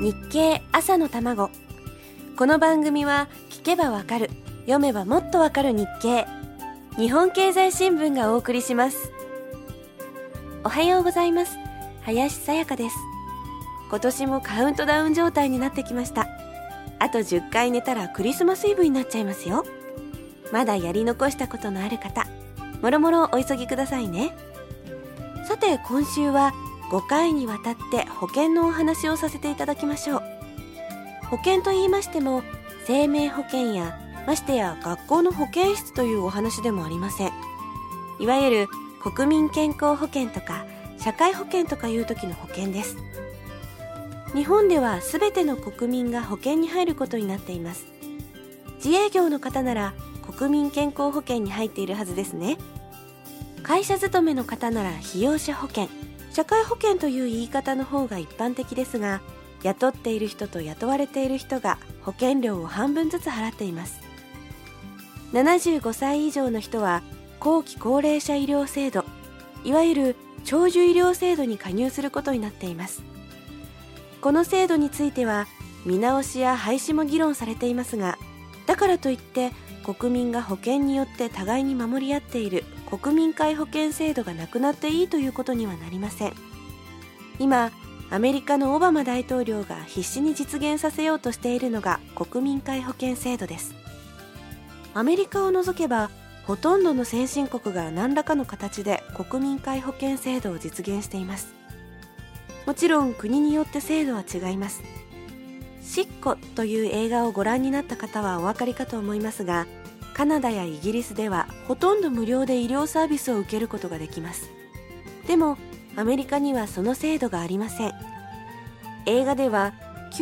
日経朝の卵。この番組は聞けばわかる、読めばもっとわかる日経、日本経済新聞がお送りします。おはようございます。林さやかです。今年もカウントダウン状態になってきました。あと10回寝たらクリスマスイブになっちゃいますよ。まだやり残したことのある方、もろもろお急ぎくださいね。さて、今週は5回にわたって保険のお話をさせていただきましょう。保険と言いましても、生命保険やましてや学校の保健室というお話でもありません。いわゆる国民健康保険とか社会保険とかいう時の保険です。日本では全ての国民が保険に入ることになっています。自営業の方なら国民健康保険に入っているはずですね。会社勤めの方なら被用者保険、社会保険という言い方の方が一般的ですが、雇っている人と雇われている人が保険料を半分ずつ払っています。75歳以上の人は後期高齢者医療制度、いわゆる長寿医療制度に加入することになっています。この制度については見直しや廃止も議論されていますが、だからといって国民が保険によって互いに守り合っている国民皆保険制度がなくなっていいということにはなりません。今、アメリカのオバマ大統領が必死に実現させようとしているのが国民皆保険制度です。アメリカを除けばほとんどの先進国が何らかの形で国民皆保険制度を実現しています。もちろん国によって制度は違います。シッコという映画をご覧になった方はお分かりかと思いますが、カナダやイギリスではほとんど無料で医療サービスを受けることができます。でもアメリカにはその制度がありません。映画では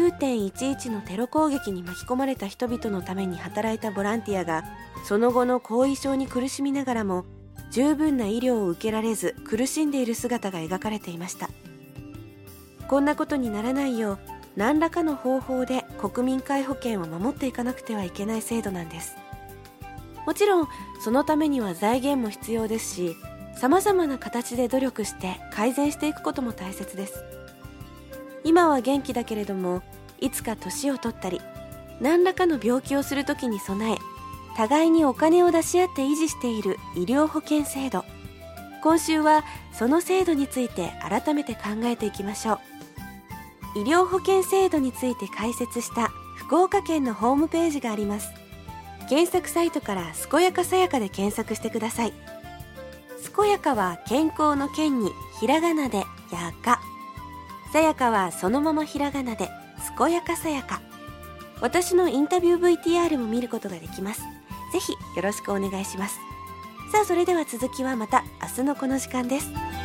9.11 のテロ攻撃に巻き込まれた人々のために働いたボランティアがその後の後遺症に苦しみながらも十分な医療を受けられず苦しんでいる姿が描かれていました。こんなことにならないよう何らかの方法で国民皆保険を守っていかなくてはいけない制度なんです。もちろんそのためには財源も必要ですし、様々な形で努力して改善していくことも大切です。今は元気だけれども、いつか年を取ったり何らかの病気をするときに備え、互いにお金を出し合って維持している医療保険制度。今週はその制度について改めて考えていきましょう。医療保険制度について解説した福岡県のホームページがあります。検索サイトから健やかさやかで検索してください。健やかは健康の健にひらがなでやか、さやかはそのままひらがなで健やかさやか。私のインタビュー VTR も見ることができます。ぜひよろしくお願いします。さあ、それでは続きはまた明日のこの時間です。